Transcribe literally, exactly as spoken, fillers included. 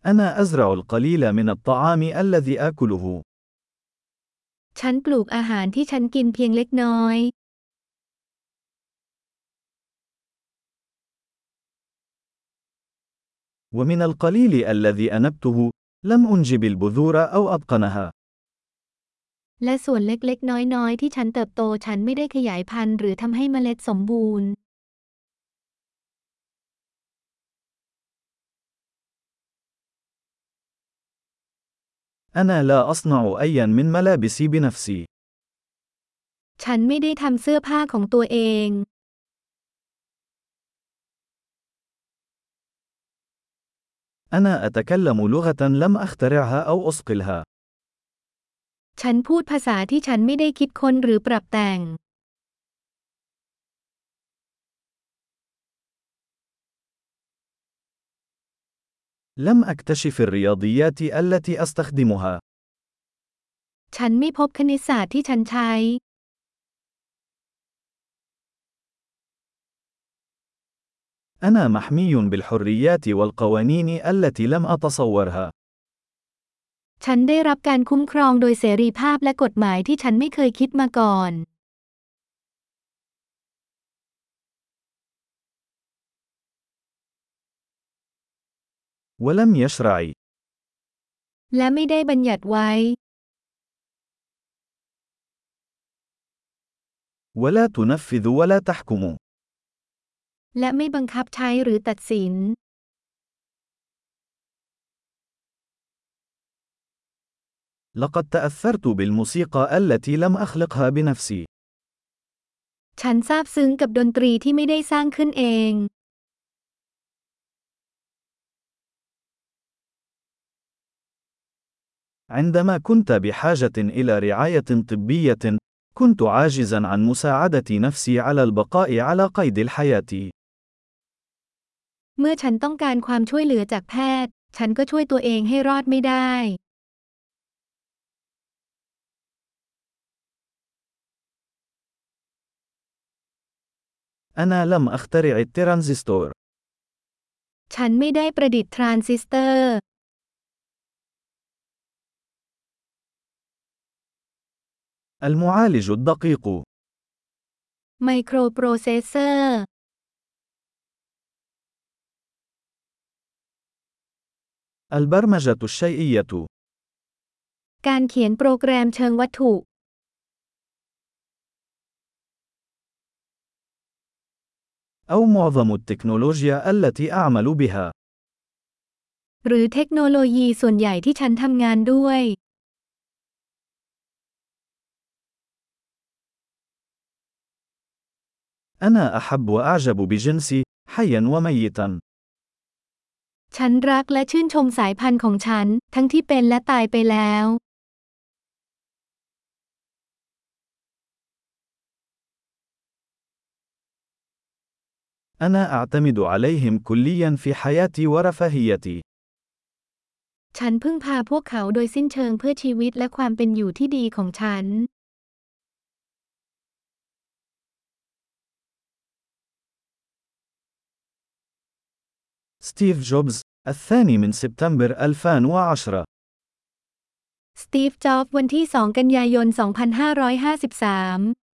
أنا أزرع القليل من الطعام الذي آكله. ฉันปลูกอาหารที่ฉันกินเพียงเล็กน้อย ومن القليل الذي أنبته، لم أنجب البذور أو أبقنها. และส่วนเล็กๆน้อยๆที่ฉันเติบโตฉันไม่ได้ขยายพันธุ์หรือทำให้เมล็ดสมบูรณ์ أنا لا أصنع أيا من ملابسي بنفسي. ฉันไม่ได้ทำเสื้อผ้าของตัวเอง أنا أتكلم لغة لم أخترعها أو أصقلها. ฉันพูดภาษาที่ฉันไม่ได้คิดค้นหรือปรับแต่ง لم أكتشف الرياضيات التي أستخدمها. ฉันไม่พบคณิตศาสตร์ที่ฉันใช้ أنا محمي بالحريات والقوانين التي لم أتصورها. ฉันได้รับการคุ้มครองโดยเสรีภาพและกฎหมายที่ฉันไม่เคยคิดมาก่อน ولم يشرع. และไม่ได้บัญญัติไว้ ولا تنفذ ولا تحكم. และไม่บังคับใช้หรือตัดสิน لقد تأثرت بالموسيقى التي لم أخلقها بنفسي. ฉันซาบซึ้งกับดนตรีที่ไม่ได้สร้างขึ้นเอง عندما كنت بحاجة إلى رعاية طبية، كنت عاجزا عن مساعدة نفسي على البقاء على قيد الحياة. เมื่อฉันต้องการความช่วยเหลือจากแพทย์ฉันก็ช่วยตัวเองให้รอดไม่ได้ أنا لم أخترع الترانزستور. ฉันไม่ได้ประดิษฐ์ทรานซิสเตอร์ المعالج الدقيق. ไมโครโปรเซสเซอร์ البرمجة الشيئية. การเขียนโปรแกรมเชิงวัตถุ أو معظم التكنولوجيا التي أعمل بها. หรือเทคโนโลยีส่วนใหญ่ที่ฉันทำงานด้วย أنا أحب وأعجب بجنسي، حيا وميتا. ฉันรักและชื่นชมสายพันธุ์ของฉันทั้งที่เป็นและตายไปแล้ว أنا أعتمد عليهم كليا في حياتي ورفاهيتي. ฉันพึ่งพาพวกเขาโดยสิ้นเชิงเพื่อชีวิตและความเป็นอยู่ที่ดีของฉัน ستيف جوبز، الثاني من سبتمبر ألفين وعشرة. สตีฟ จ็อบส์ วันที่ สอง กันยายน สองพันห้าร้อยห้าสิบสาม